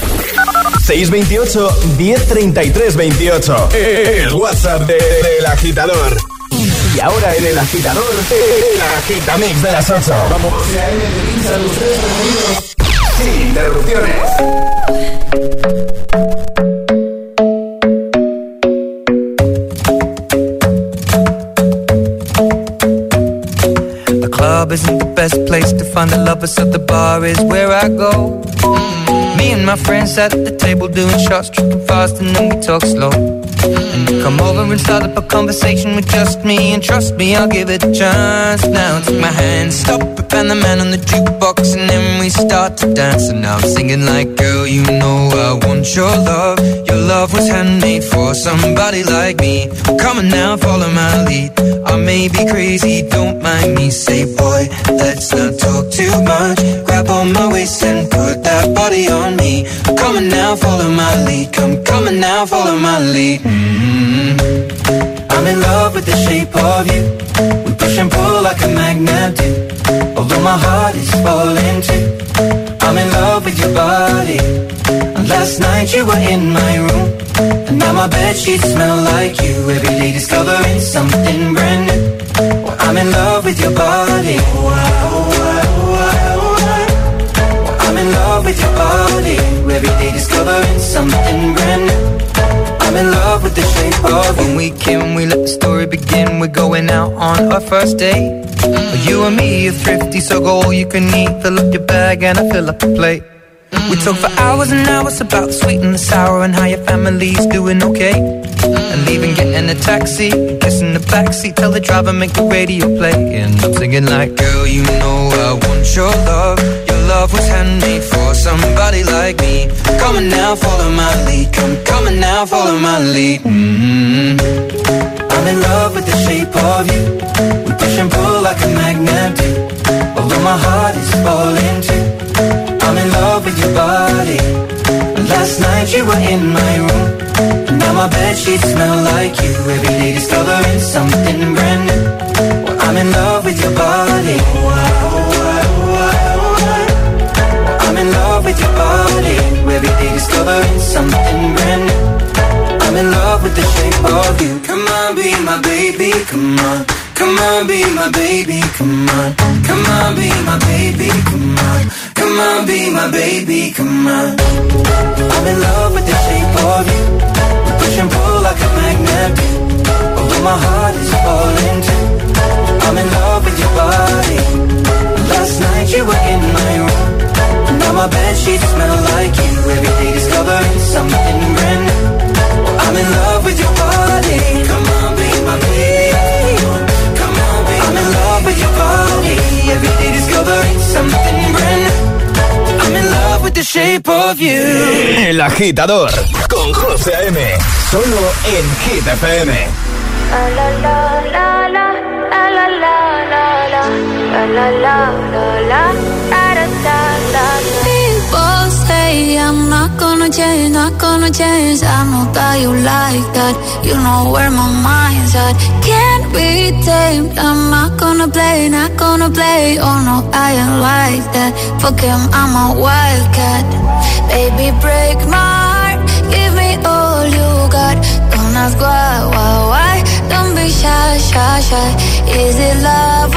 628 1033 28. El WhatsApp del agitador. Y ahora en el agitador, el agitamix de las 8. Vamos. Sin interrupciones. The club isn't the best place to find the lovers, so the bar is where I go. Me and my friends at the table doing shots, tripping fast, and then we talk slow. And you come over and start up a conversation with just me, and trust me, I'll give it a chance. Now take my hand, stop it, and the man on the jukebox, and then we start to dance. And now I'm singing like, girl, you know I want your love. Your love was handmade for somebody like me. Come on now, follow my lead. I may be crazy, don't mind me. Say, boy, let's not talk too much. Grab on my waist and put that body on me. Come on now, follow my lead. Come on now, follow my lead. I'm in love with the shape of you. We push and pull like a magnet do. Although my heart is falling too. I'm in love with your body. And last night you were in my room. And now my bedsheets smell like you. Every day discovering something brand new. Well, I'm in love with your body. I'm in love with your body. Every day discovering something brand new. I'm in love with the shape of you. When we can, we let the story begin. We're going out on our first date. You and me are thrifty, so go all you can eat. Fill up your bag and I fill up the plate. We talk for hours and hours about the sweet and the sour and how your family's doing okay. And leaving, getting a taxi, kissing the backseat, tell the driver make the radio play. And I'm singing like, girl, you know I want your love. Your love was handmade for somebody like me. Come on now, follow my lead. Come on now, follow my lead. I'm in love with the shape of you. We push and pull like a magnet do. Although my heart is falling too. I'm in love with your body. Last night you were in my room. And now my bedsheets smell like you. Every day discovering something brand new. Well, I'm in love with your body. I'm in love with your body. Every day discovering something brand new. I'm in love with the shape of you. Come on, be my baby, come on. Come on, be my baby, come on. Come on, be my baby, come on. Come on, be my baby, come on. I'm in love with the shape of you. We push and pull like a magnet do. Although my heart is falling too. I'm in love with your body. Last night you were in my room. Now my bedsheets smell like you. Every day discovering something brand new. I'm in love with your body. Come on, be my baby. Come on, be I'm in love with your body. Every day discovering something brand new. I'm in love with the shape of you. El Agitador con José A.M. Solo en Hit FM. La la la la la la la la la la la la la. People say I'm not gonna change, not gonna change. I know that you like that. You know where my mind's at. Can't be tamed. I'm not gonna play, not gonna play. Oh no, I ain't like that. Fuck him, I'm a wildcat. Baby, break my heart. Give me all you got. Don't ask why. Don't be shy, shy, shy. Is it love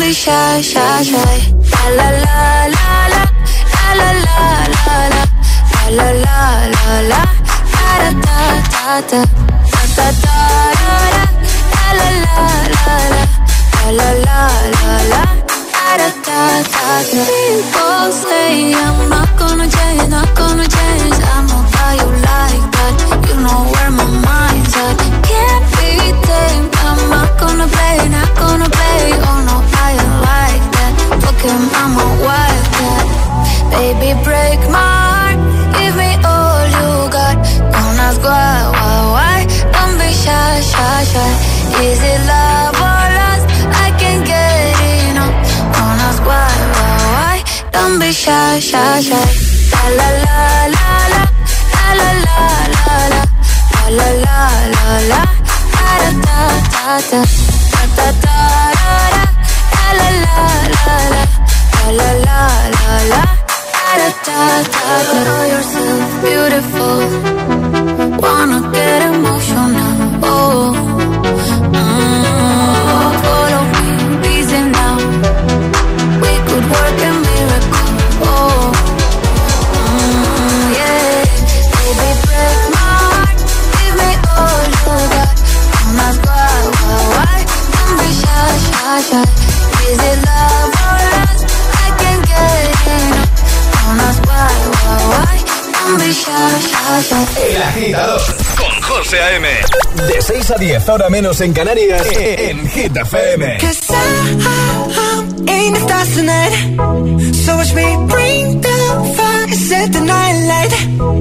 be shy, shy, shy. La la la la, la la la la, la la la la, da da da da, da da da da, la la la la, la la la la, da da da da. People say I'm not gonna change, not gonna change. I'm not how you like that. You know where my mind's at. Can't be tamed. I'm not gonna play, not gonna play. Oh no, I ain't like that. Look at I'm a wildcat. Baby, break my heart. Give me all you got. Don't ask why. Don't be shy, shy, shy. Is it love or lust? I can't get enough. Don't ask why. Don't be shy, shy, shy. La la la la, la la la la, la la la la, da da da da, da da da da, la la la la, la la la la, da da da da. Know yourself beautiful, wanna get emotional. Oh, follow me, reason now. We could work a miracle. Oh. Is it love or lust? I can't get enough. Don't ask why. Don't be shy, shy, shy. El Agitador con José A.M. De 6 a 10, ahora menos en Canarias, en Hit FM. 'Cause I'm in the stars tonight. So watch me bring the fire, set the night light.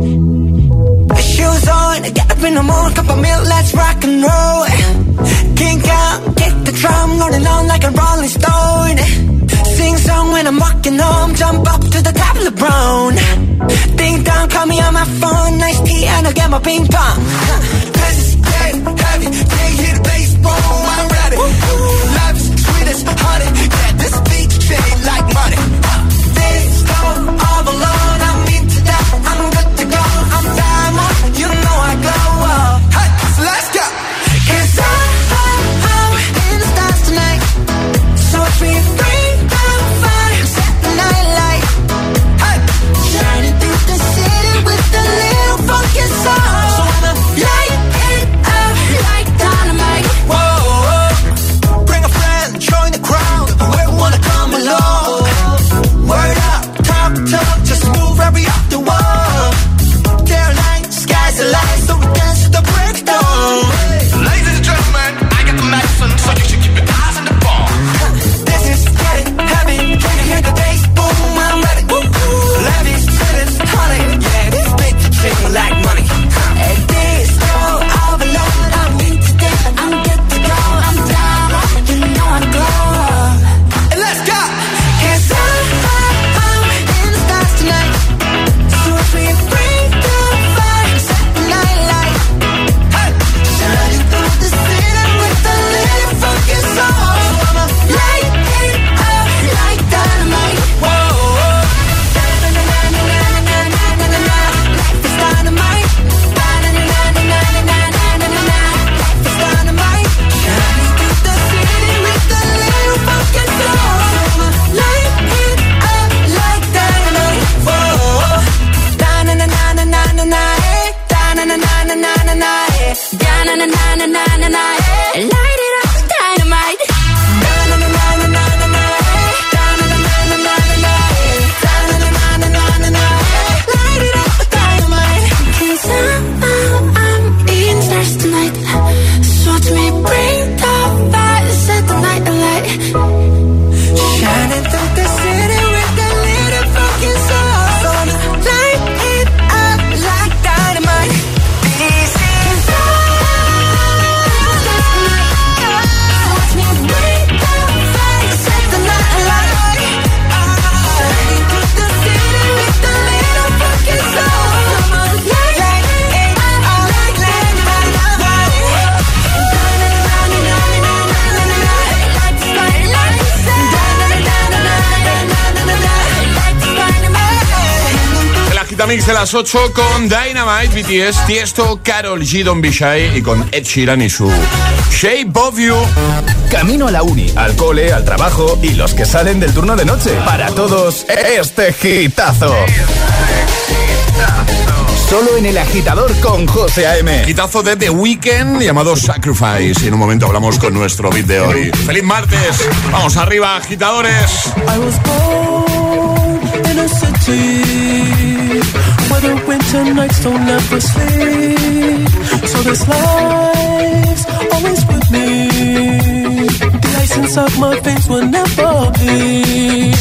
Shoes on, get up in the morning, cup of milk, let's rock and roll. Kink out, kick the drum, rolling on like a rolling stone. Sing song when I'm walking home, jump up to the top of the brown. Ding dong, call me on my phone, nice tea and I'll get my ping pong. Cause it's getting heavy, can't hear the bass, boom, I'm ready. Life is sweet as honey, yeah, this beat chain like money. This song all alone, I'm into that, I'm good to go, I'm diamond, you know I glow up. Hey, so let's go. Cause I'm in the stars tonight. So watch me bring the fire, set the night light. Hey, shining through the city with a little funky soul. So I'ma light it up like dynamite. Whoa, bring a friend, join the crowd. Whoever wanna come along. Word up, talk, just move every up the wall. Caroline, sky's the light, so we dance to the break of dawn. Ladies and gentlemen, I got the medicine, so you should keep your eyes on the ball. This is getting heavy, can you hear the bass? Boom, I'm ready. Levi's, feelings, honey, yeah, this big chick like money. And this all alone, I'm into that, I'm good to go, I'm down, you know I'm glow. And let's go, 'cause I'm in the stars tonight. So if we bring the fire, set the night light. Hey, shining through the city with a little funky soul. So I'ma light it up like dynamite. Whoa, na-na-na-na-na-na-na-na-na-na. Life is dynamite. Na-na-na-na-na-na-na-na-na. Life is dynamite. Shining through the city with a little funky soul. So I'ma light it up like dynamite. Whoa, da-na-na-na-na-na-na, da-na-na-na-na-na-na, da-na-na-na-na-na-na, light it up, dynamite. Da-na-na-na-na-na-na, da-na-na-na-na-na-na, da-na-na-na-na-na-na, light it up, dynamite. 'Cause I'm in the stars tonight. So watch me bring the fire, set the night alight. Shining through the city with a little fucking soul. So light it up like dynamite. This is Agitamix de las 8 con Dynamite, BTS, Tiesto, Karol G, Don't Be Shy y con Ed Sheeran y su Shape of You. Camino a la uni, al cole, al trabajo y los que salen del turno de noche. Para todos, este hitazo. Solo en El Agitador con José A.M. Hitazo de The Weeknd llamado Sacrifice. Y en un momento hablamos con nuestro beat de hoy. ¡Feliz martes! ¡Vamos arriba, agitadores! I was born in a city where the winter nights don't ever sleep. So this life's always with me. The ice inside my veins will never bleed.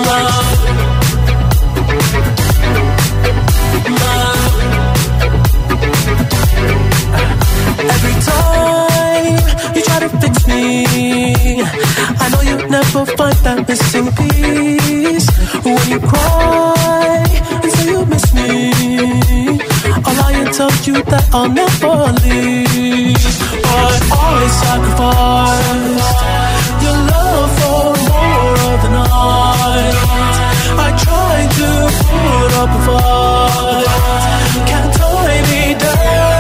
Every time you try to fix me, I know you'll never find that missing piece. When you cry and say you miss me, I'll lie and tell you that I'll never leave. But I sacrificed your love for more of the night. I tried to put up a fight, can't tie me down.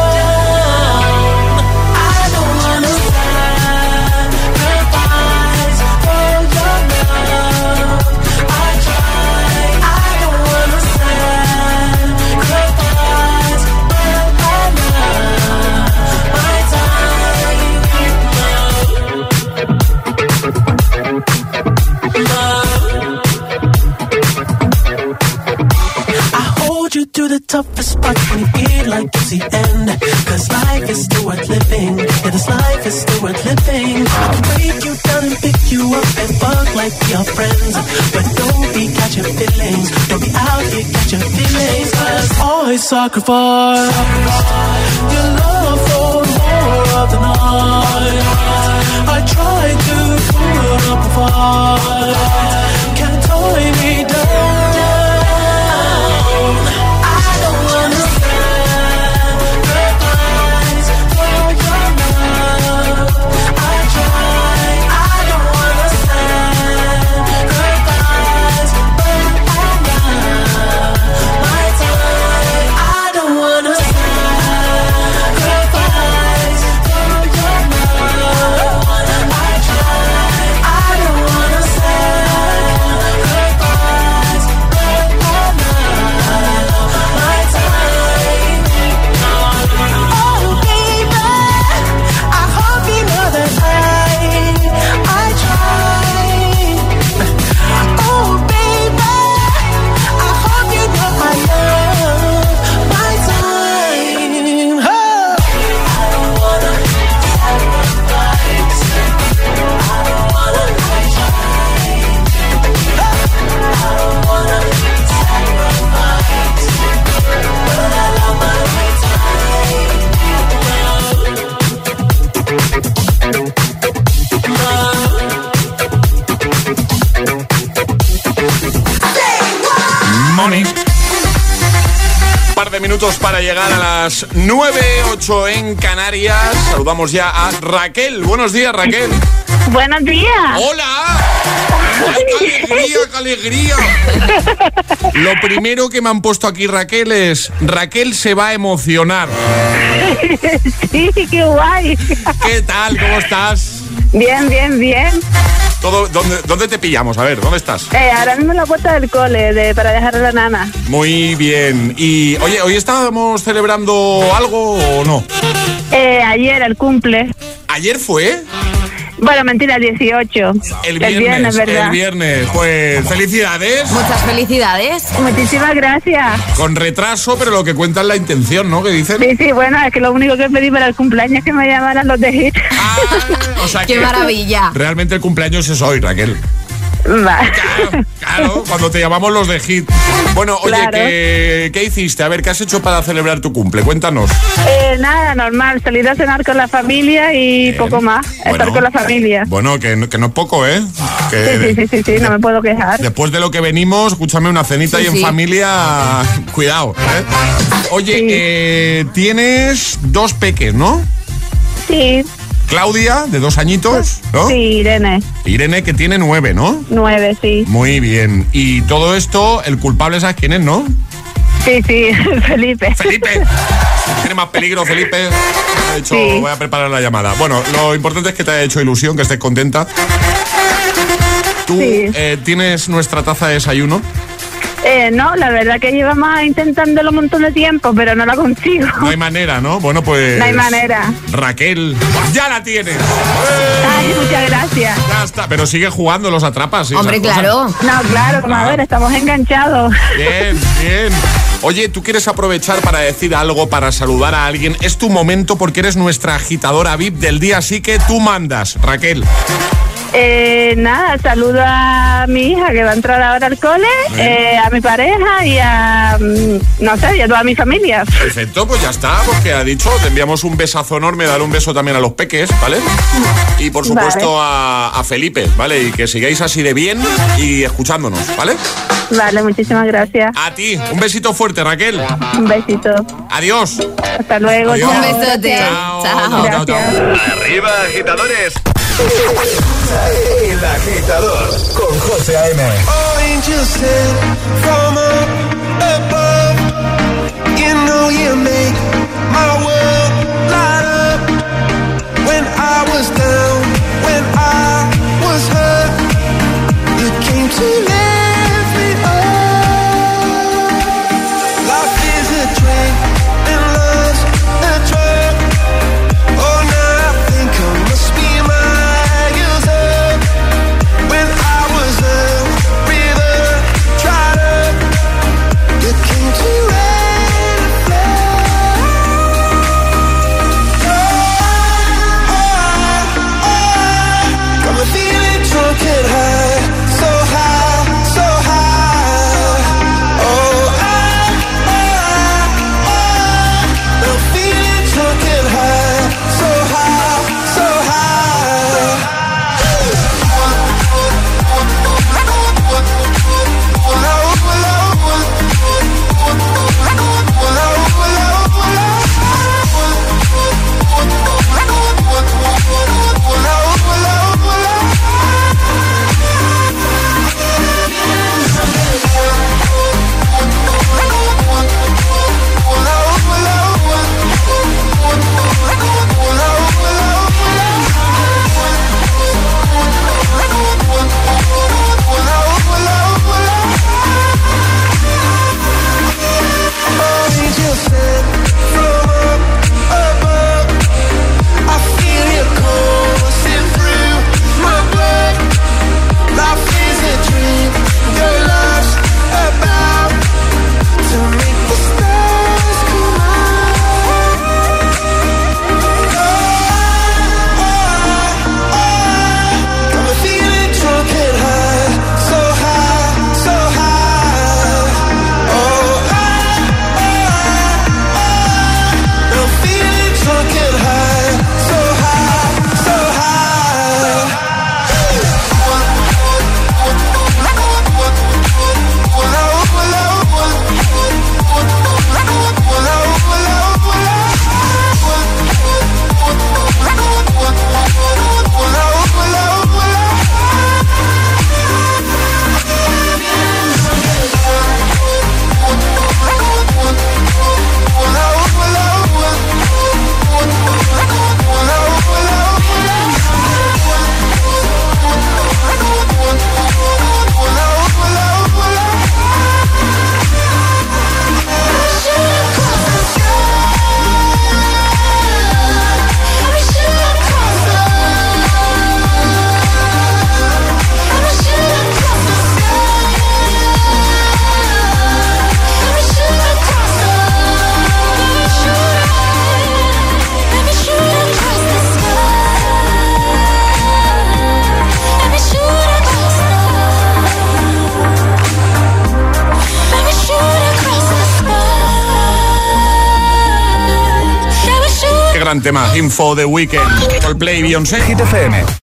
To the toughest part when you feel like it's the end. Cause life is still worth living. Yeah, this life is still worth living. I can break you down and pick you up and fuck like we are friends. But don't be catching feelings. Don't be out here catching feelings. Cause I sacrifice your love for more of the night. I tried to put up a fight, can't tie me down. Minutos para llegar a las 9:08 en Canarias. Saludamos ya a Raquel. Buenos días, Raquel. Buenos días. ¡Hola! ¡Qué alegría, qué alegría! Lo primero que me han puesto aquí, Raquel, es Raquel se va a emocionar. Sí, qué guay. ¿Qué tal? ¿Cómo estás? Bien, bien, bien. ¿Dónde te pillamos? A ver, ¿dónde estás? Ahora mismo en la puerta del cole, para dejar a la nana. Muy bien. Y, oye, ¿hoy estábamos celebrando algo o no? Ayer, el cumple. ¿Ayer fue? Bueno, mentira, 18. El viernes, ¿verdad? El viernes. Pues, felicidades. Muchas felicidades. Muchísimas gracias. Con retraso, pero lo que cuenta es la intención, ¿no? ¿Qué dicen? Sí, bueno, es que lo único que pedí para el cumpleaños es que me llamaran los de Hit. O sea, ¡qué maravilla! Realmente el cumpleaños es hoy, Raquel. Va. Claro, cuando te llamamos los de Hit. Bueno, oye, claro. ¿Qué hiciste? A ver, ¿qué has hecho para celebrar tu cumple? Cuéntanos. Nada, normal. Salir a cenar con la familia y poco más. Bueno, estar con la familia. Bueno, que no es poco, ¿eh? Sí, no me puedo quejar. Después de lo que venimos, escúchame, una cenita y en familia, cuidado, ¿eh? Oye, tienes 2 peques, ¿no? Sí. Claudia, de 2 añitos, ¿no? Sí, Irene. Irene, que tiene 9, ¿no? 9, sí. Muy bien. Y todo esto, el culpable, ¿sabes quién es, no? Sí, Felipe. Felipe. Tiene más peligro, Felipe. De hecho, voy a preparar la llamada. Bueno, lo importante es que te haya hecho ilusión, que estés contenta. ¿Tú tienes nuestra taza de desayuno? No, la verdad que llevamos intentándolo un montón de tiempo, pero no la consigo. No hay manera, ¿no? Bueno, pues... No hay manera. Raquel, ya la tienes. Ay, muchas gracias. Ya está, pero sigue jugando, los atrapas. Hombre, claro. No, claro, comadre, estamos enganchados. Bien. Oye, ¿tú quieres aprovechar para decir algo, para saludar a alguien? Es tu momento porque eres nuestra agitadora VIP del día, así que tú mandas, Raquel. Nada, saludo a mi hija que va a entrar ahora al cole, a mi pareja y a, no sé, y a toda mi familia. Perfecto, pues ya está, porque ha dicho, te enviamos un besazo enorme, dale un beso también a los peques, ¿vale? Y por supuesto a Felipe, ¿vale? Y que sigáis así de bien y escuchándonos, ¿vale? Vale, muchísimas gracias. A ti, un besito fuerte, Raquel. Un besito. Adiós. Hasta luego. Adiós. Un besote. Chao. Arriba, agitadores. El Agitador con José A.M. Angels sent from above. You know you make my world light up. When I was down, when I was hurt, you came to lift me up. Life is a drink and love's a drug. Oh, now I think I must be miles up. When I was a river dried up, you came to rain and flood. Got me feeling drunk and high, so high, so high. Oh, I'm feeling drunk and high, so high, so high. Angels sent from above. I feel your coursing through my blood. Life is a dream, your love's about to make the stars come out. Got me feeling drunk and high, so high, so high. Oh, I'm feeling drunk and high, so high, so high. Qué gran tema, Info The Weeknd, Coldplay, Beyoncé. Hit FM.